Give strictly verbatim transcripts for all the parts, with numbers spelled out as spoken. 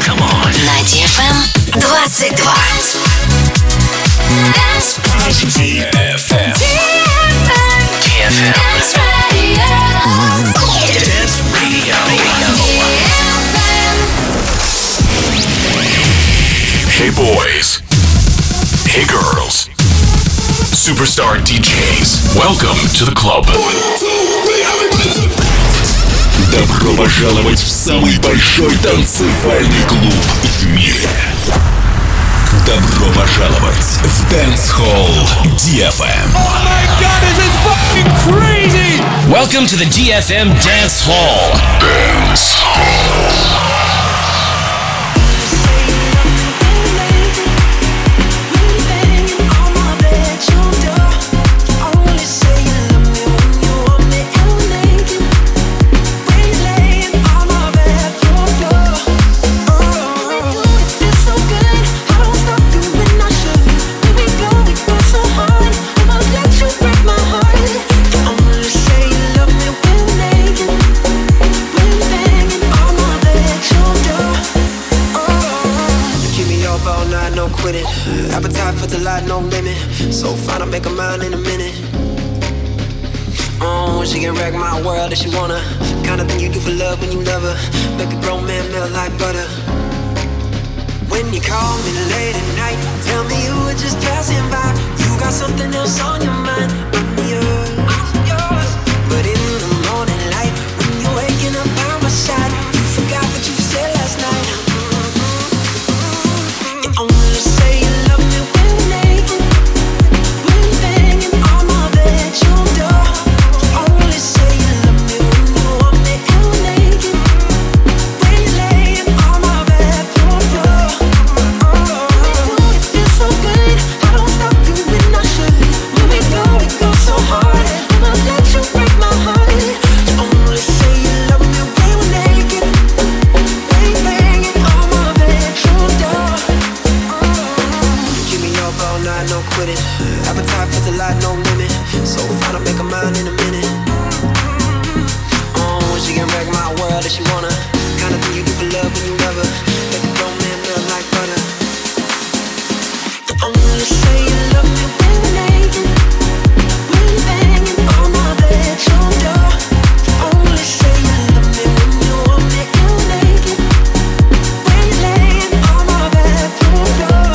Come on. На ди эф эм двадцать два. ди эф эм. ди эф эм. Dance Radio. Hey boys. Hey girls. Superstar ди джейс. Welcome to the club. Добро пожаловать в самый большой танцевальный клуб в мире. Добро пожаловать в Dance Hall ди эф эм. Oh my God, this is fucking crazy! Welcome to the ди эф эм Dance Hall. Dance Hall. Appetite for delight, no limit. So fine, I'll make a mind in a minute. Oh, she can wreck my world if she wanna. Kind of thing you do for love when you love her. Make a grown man melt like butter. When you call me late at night, tell me you were just passing by. You got something else on your mind. I'm yours. But in the morning light, when you're waking up by my side, you forgot what you said last night. You only say you love me when you're naked, when you're banging on my bedroom door. You only say you love me when you want me and we're naked, when you're laying on my bedroom floor. Oh, it feels so good, I don't stop you when I should. When we go, we go so hard, I'ma let you break my heart. You only say you love me when we're naked, when you're banging on my bedroom door. Keep me up all night, no quitting. Appetite for delight, no limit. So fine, I'll make a mind in a minute. Oh, she can wreck my world if she wanna. Kind of thing you do for love when you love her. Make a grown man melt like butter. You only say you love me when we're naked, when you're banging on my bedroom door. You only say you love me when you want me and we're naked, when you're laying on my bedroom floor.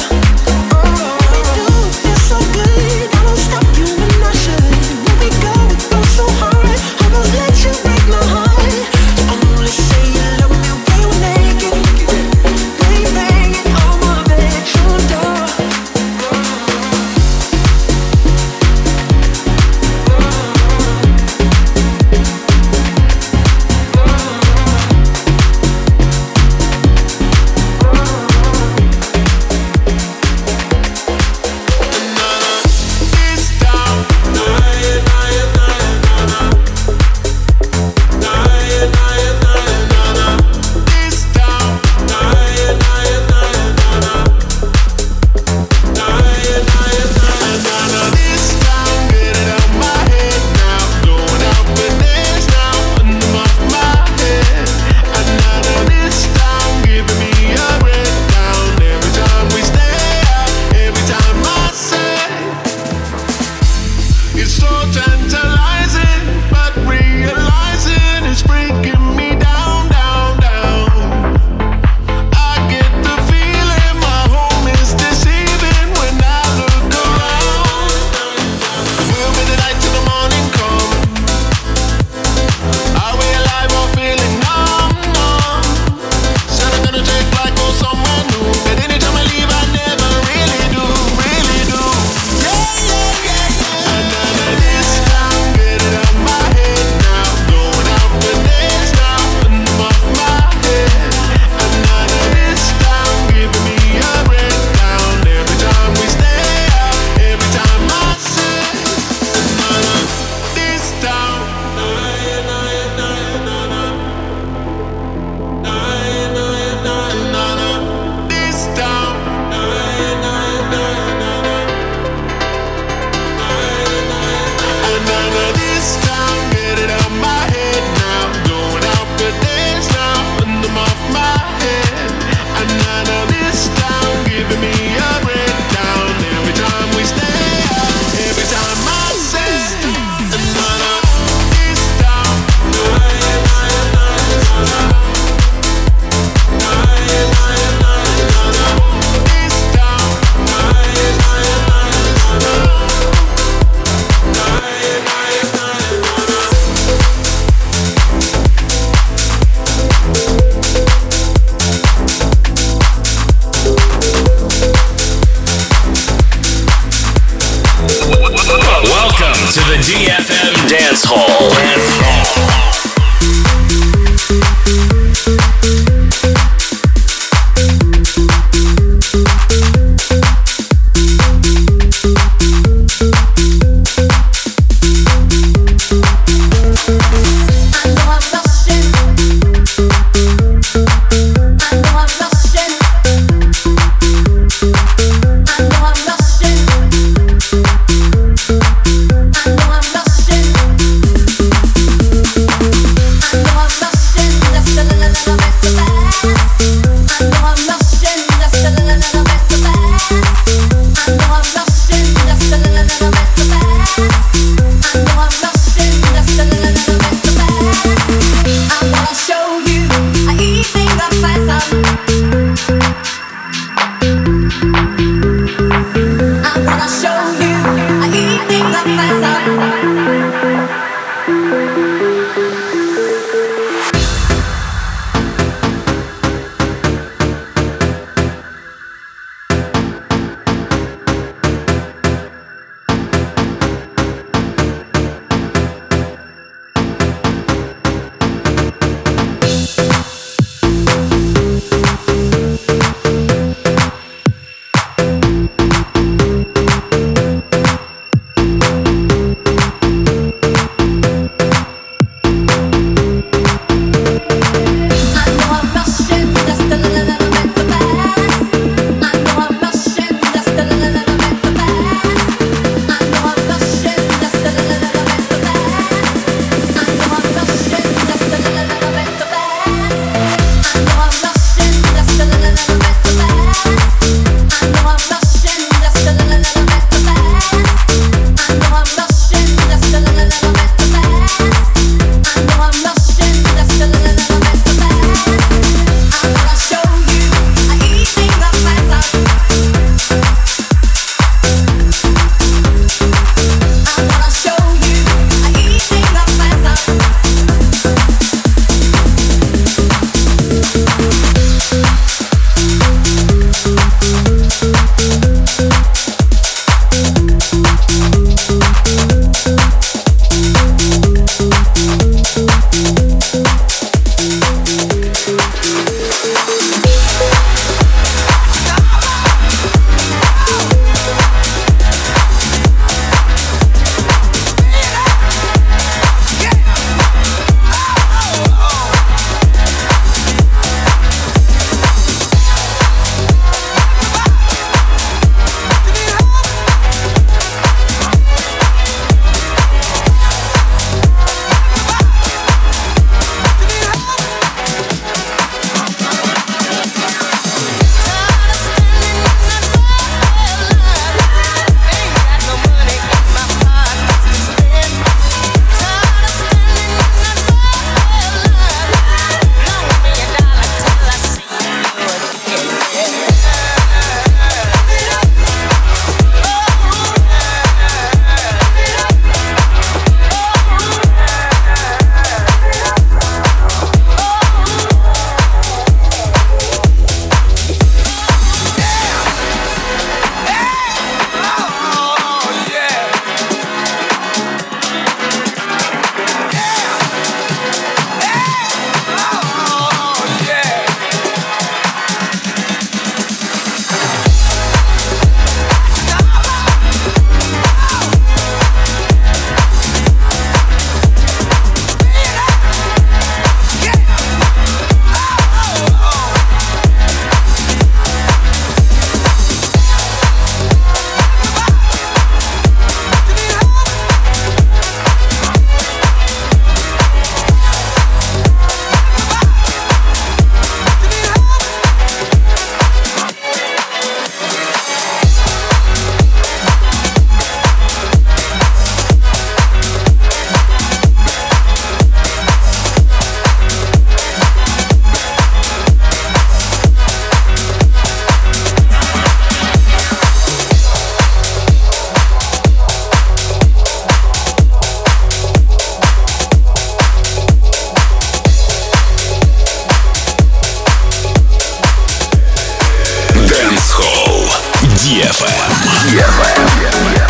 эф эм.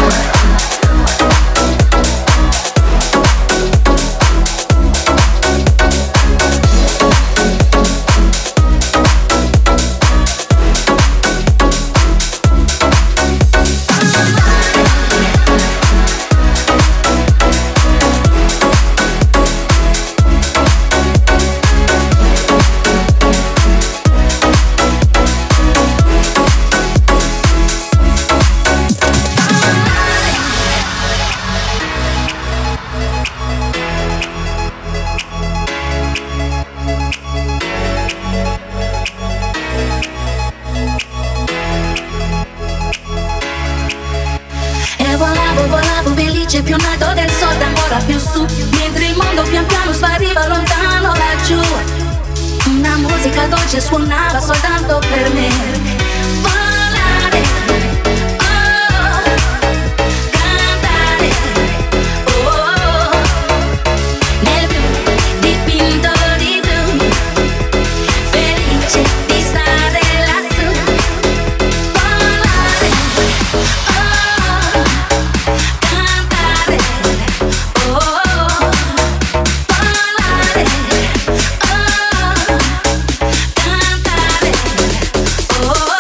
E volavo, volavo felice più in alto del sole, ancora più su, mentre il mondo pian piano spariva lontano laggiù. Una musica dolce suonava soltanto per me. Volare, oh, cantare, oh, nel blu, dipinto di blu, felice di stare lassù. Volare, oh, cantare, oh, volare, oh, cantare, oh.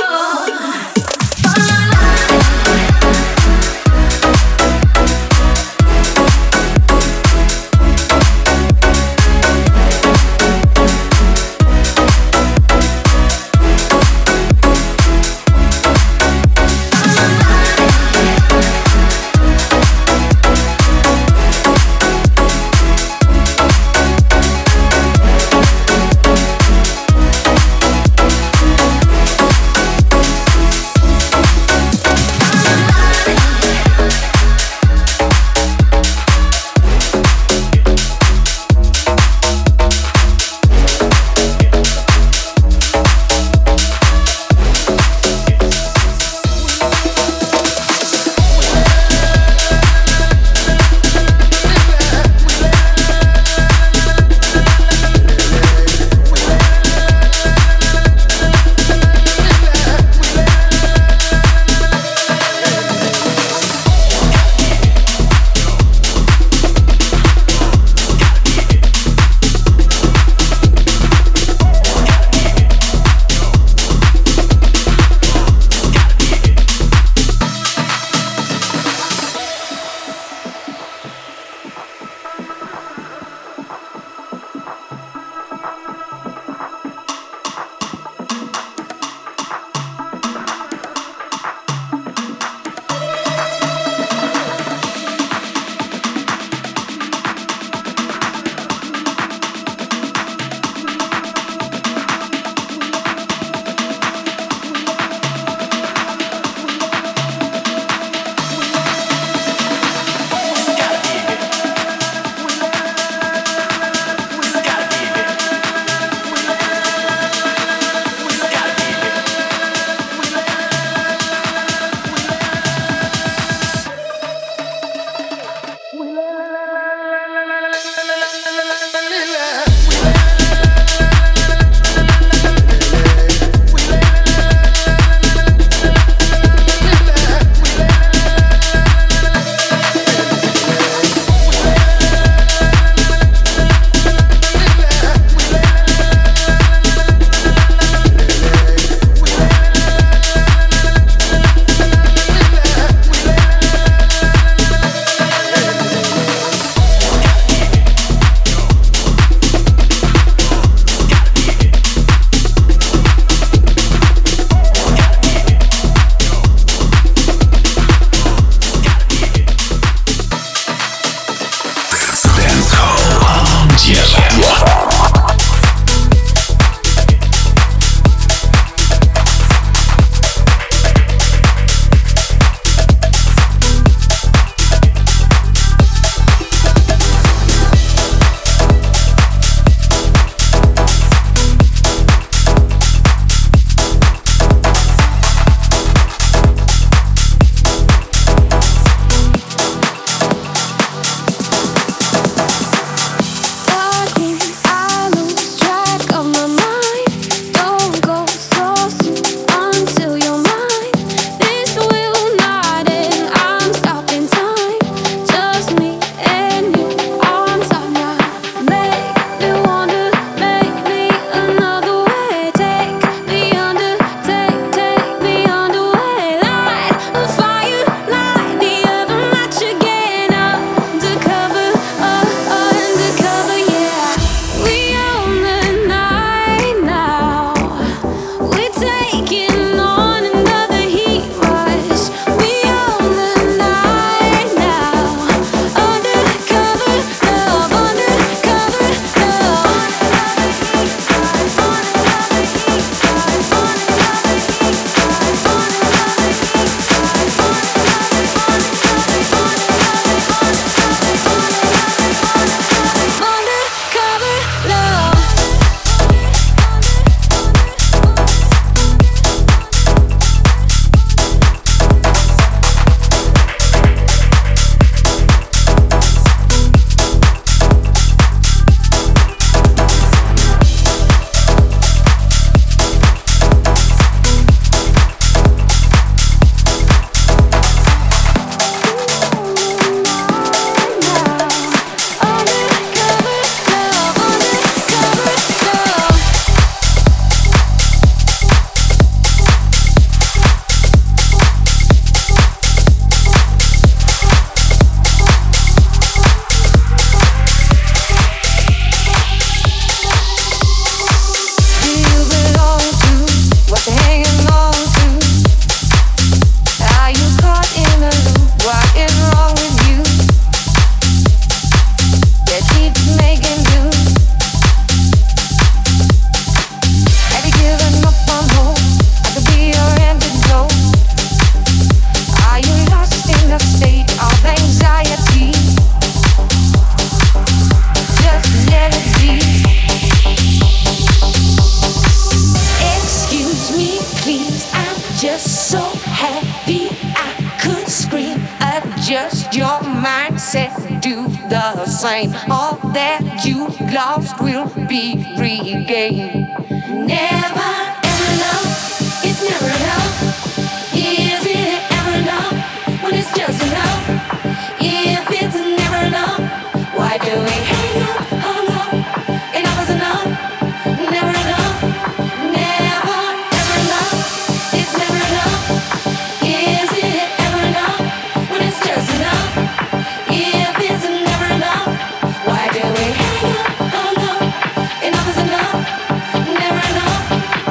said do the same. All that you lost will be regained. Never ever enough, it's never enough. Is it ever enough when it's just enough? If it's never enough, why do we hang up, hung up? Enough is enough, never enough. Never ever enough, it's never enough. Is it ever enough when it's just enough? If it's never enough, why do we hang up, hung up? Enough is enough, never enough.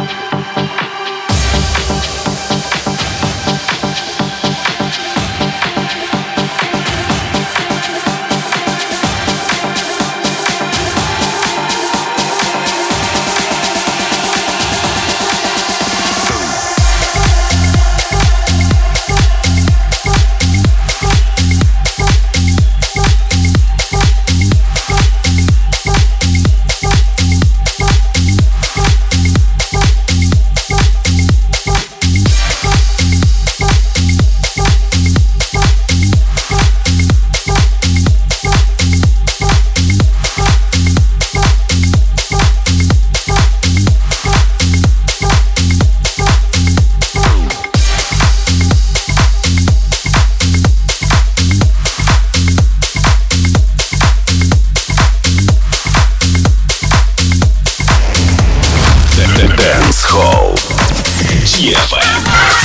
Dance Hall ди эф эм.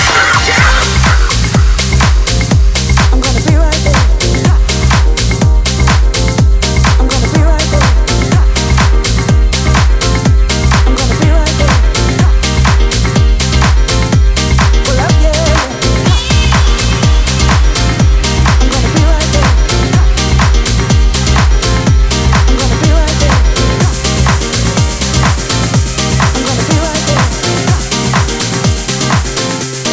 I'm gonna be right there. I'm gonna be right there. I'm gonna be right there. Well, up, yeah. I'm gonna be right there. I'm gonna be right there. I'm gonna be right there.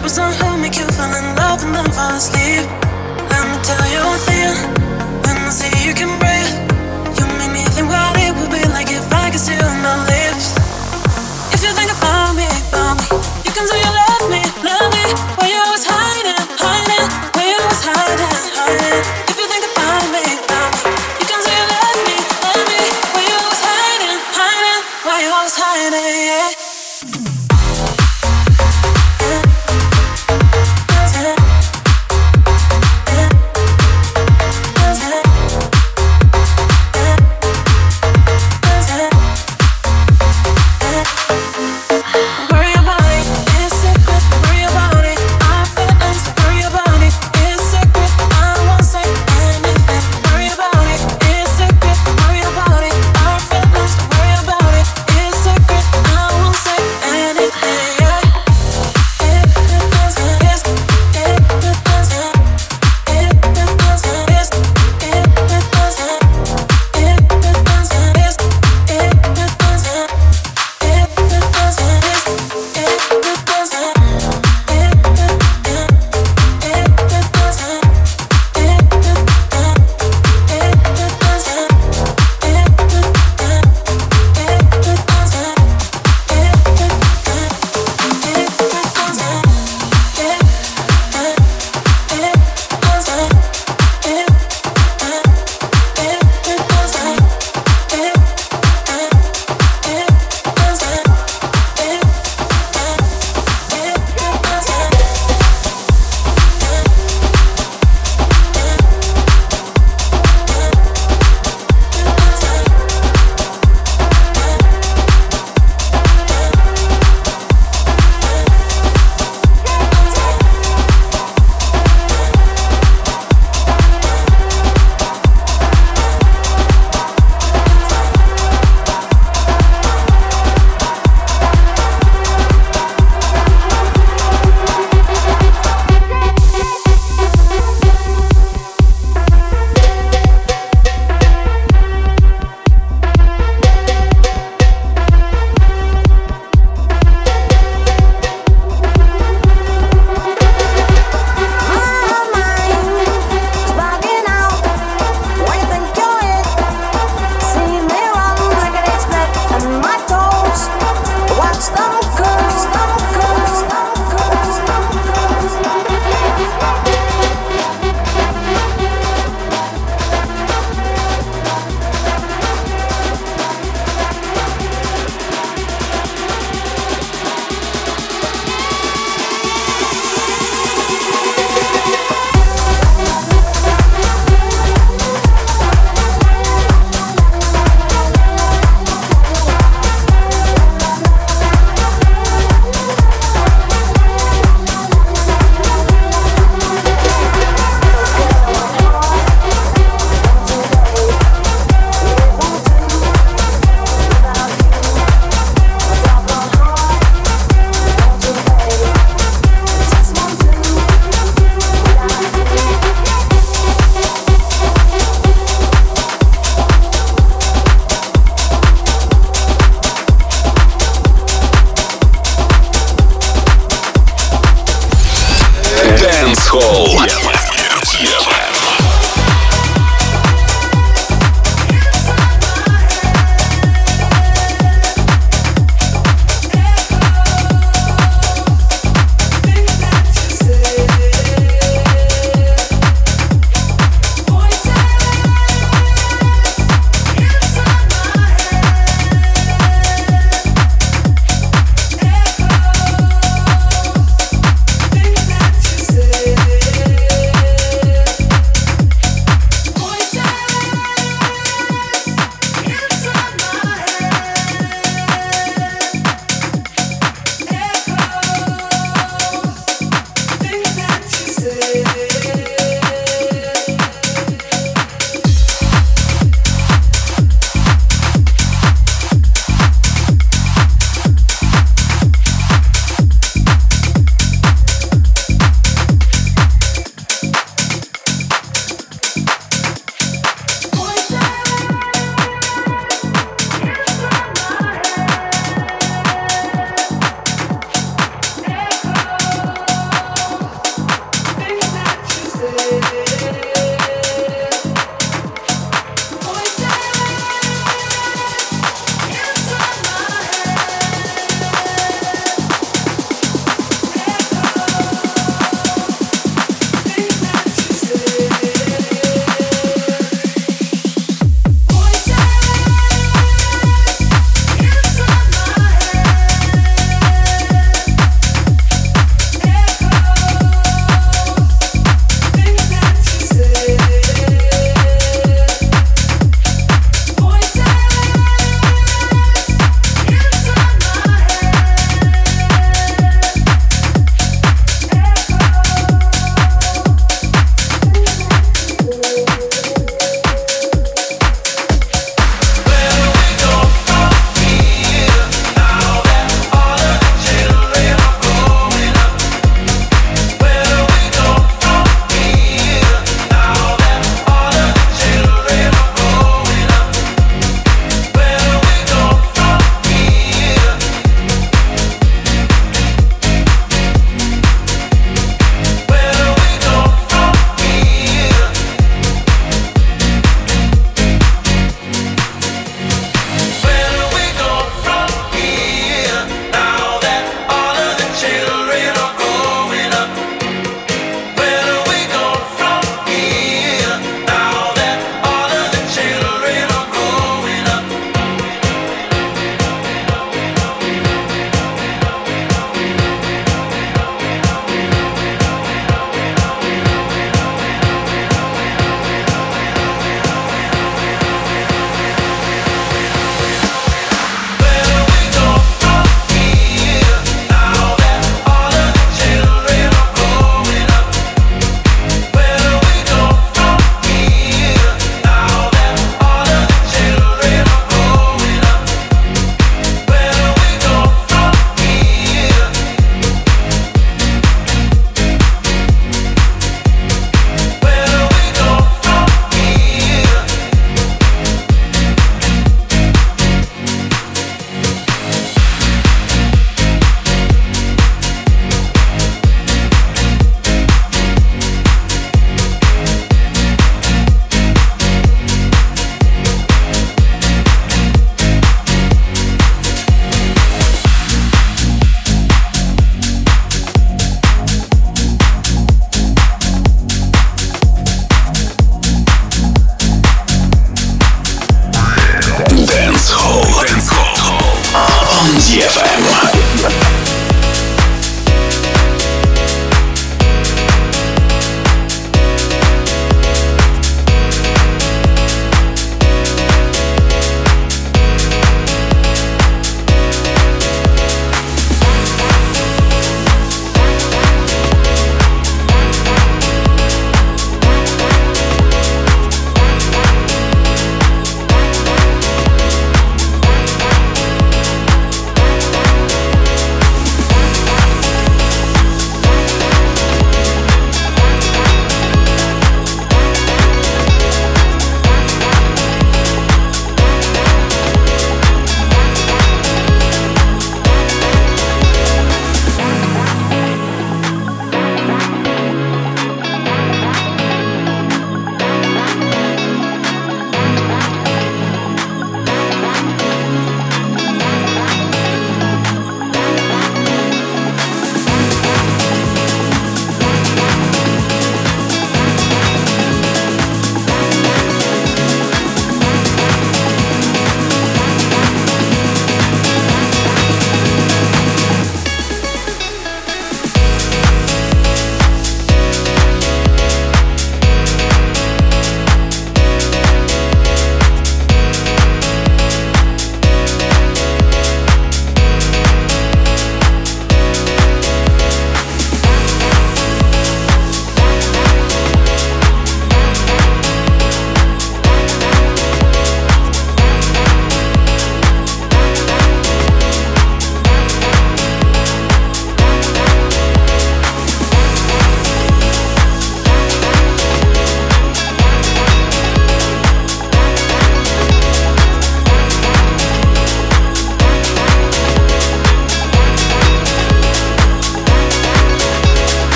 Purpose on who make you fall in love and then fall asleep. Let me tell you one thing. When I see you can breathe, you make me think what it would be like if I could see you on my lips. If you think about me, about me, you can say you love me, love me. Why you always hiding, hiding? Why you always hiding, hiding? If you think about me, about me, you can say you love me, love me. Why you always hiding, hiding? Why you always hiding, yeah.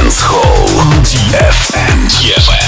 Dance Hall ди эф эм. ди эф эм.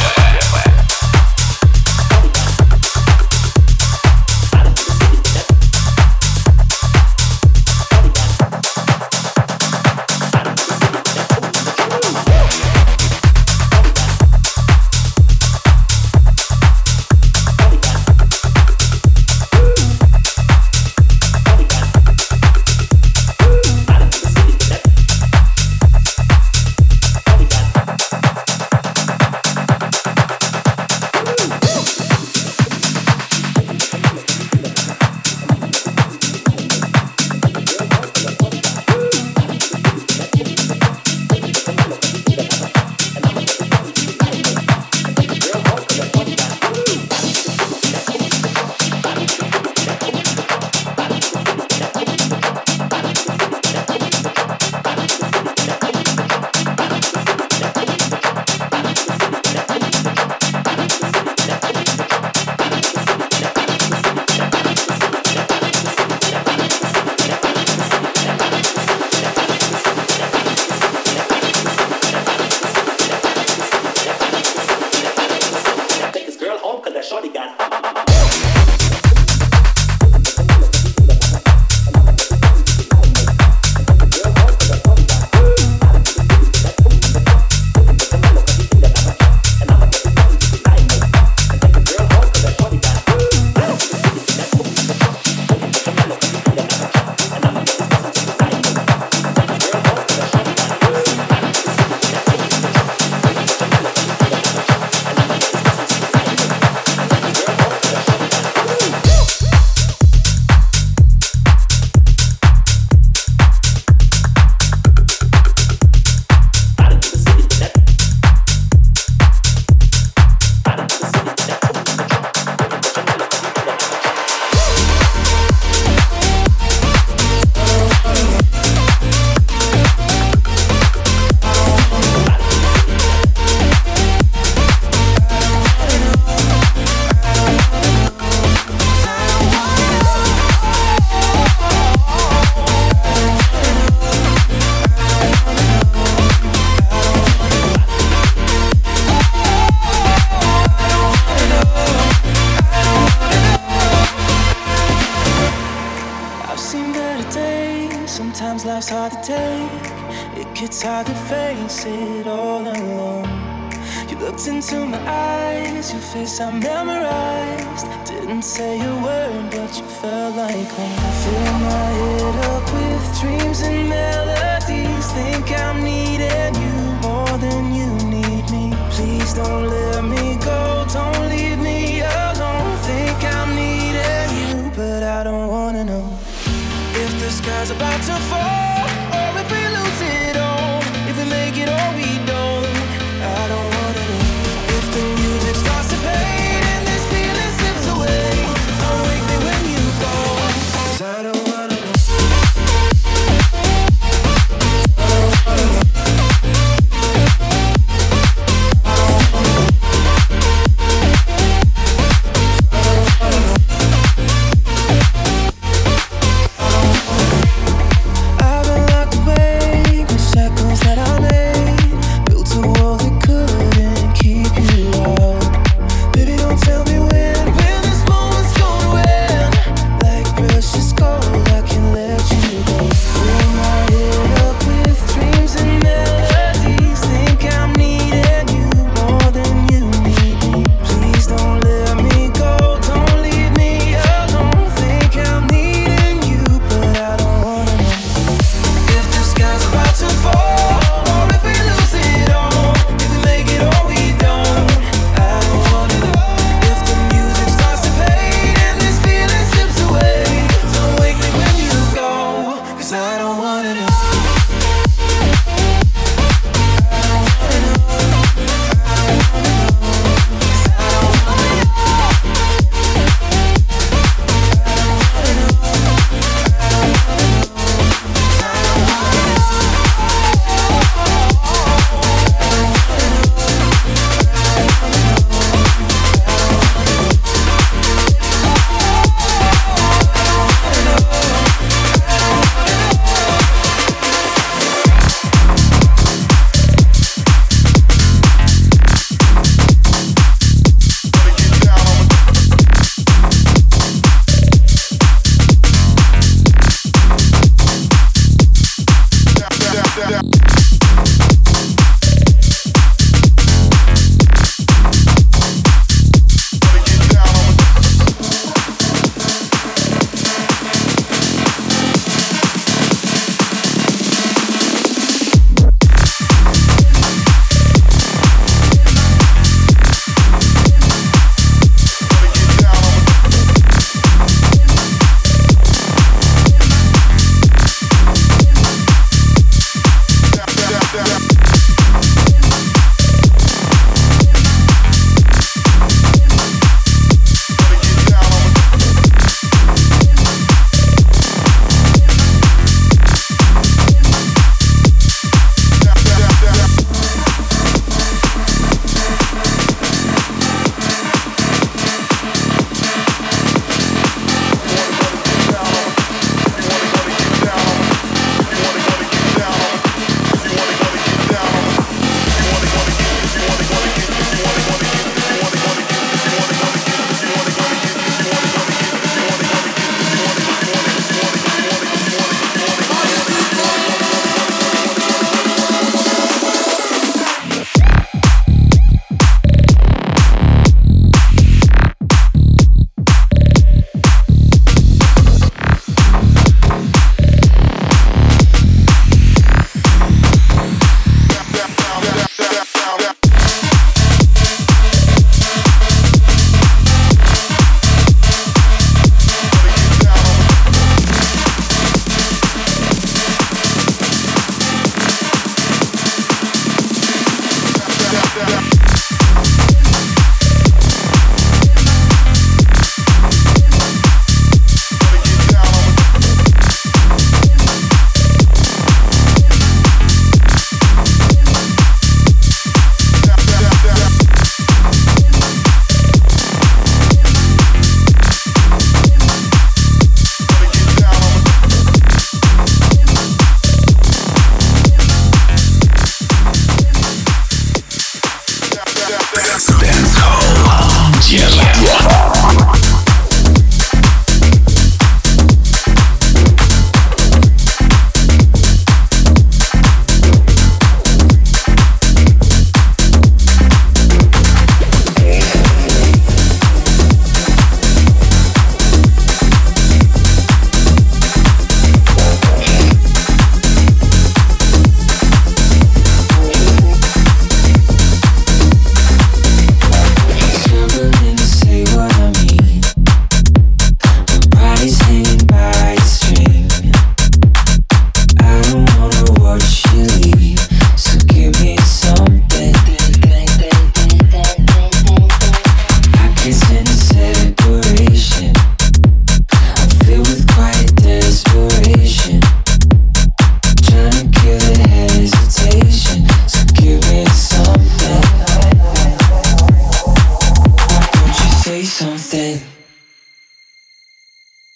life's hard to take. It gets hard to face it all alone. You looked into my eyes, your face I memorized. Didn't say a word, but you felt like home. Fill my head up with dreams and melodies. Think I'm needing you more than you need me. Please don't let me go, don't leave me alone. Think I'm needing you, but I don't wanna know if the sky's about to fall, or if we lose it all, if we make it or we don't. I don't wanna know if the music starts to fade and this feeling slips away. I'll wake me when you go, 'cause I don't wanna know. I don't wanna know.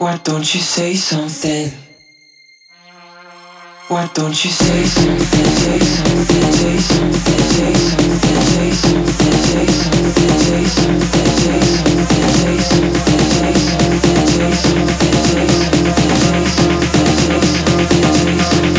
Why don't you say something? Why don't you say something? Say something, say something, say something, say something, say something, say something, say something, say something, say something, say something, say something, say something, say something,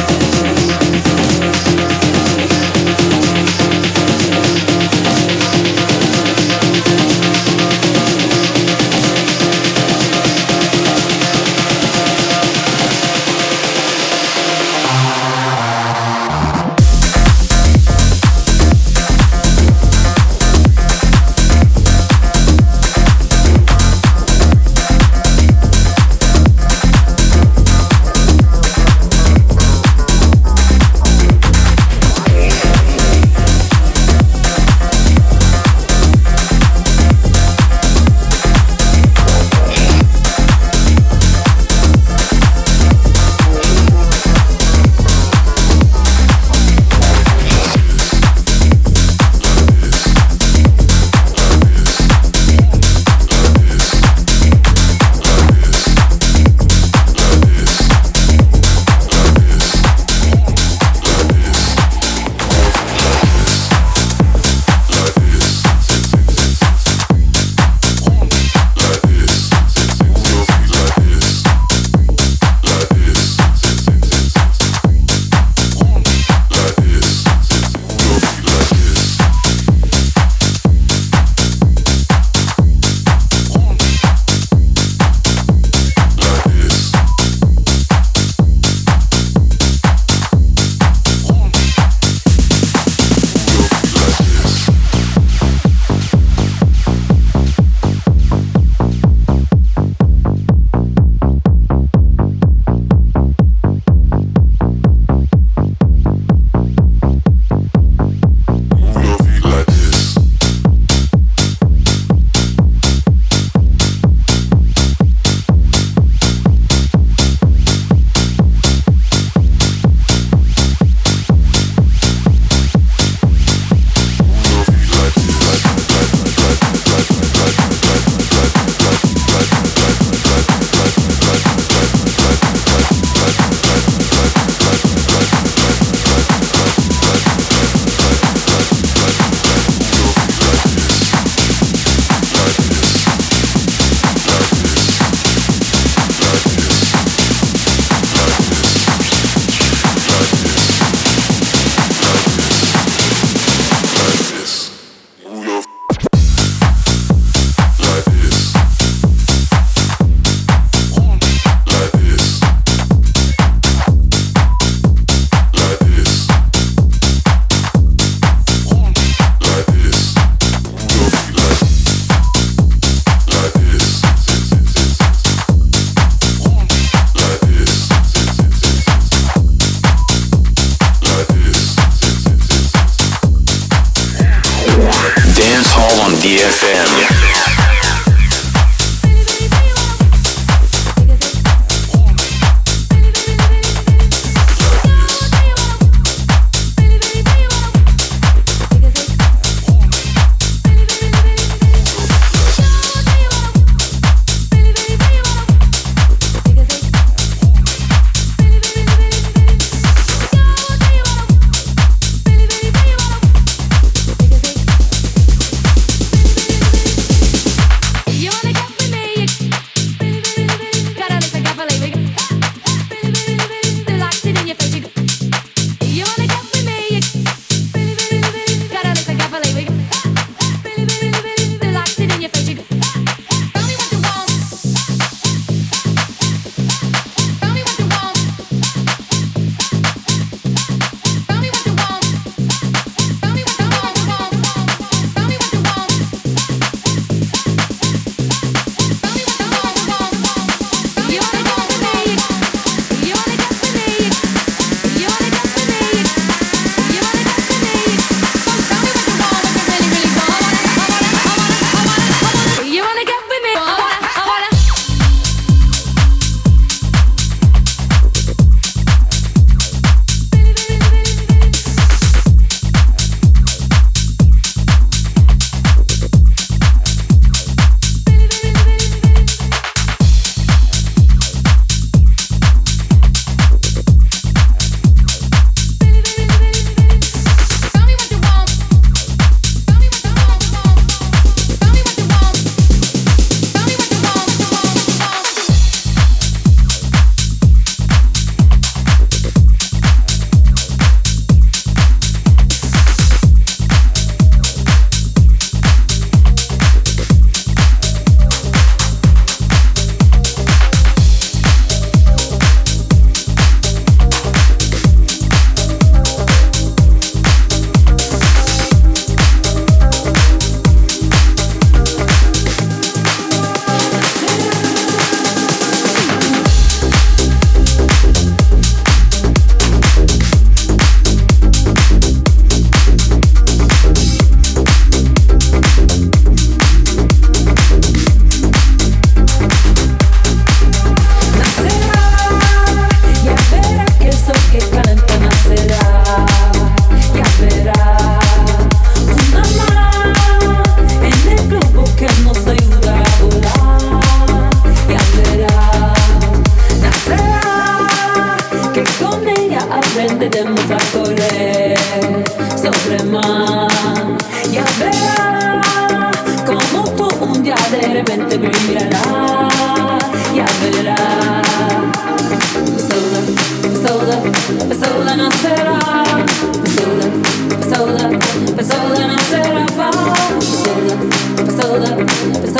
más. Ya verás como tú un día de repente brillarás. Ya verás. Pessoa, pessoa, pessoa não será. Pessoa, pessoa, pessoa não será. Pessoa, pessoa, pessoa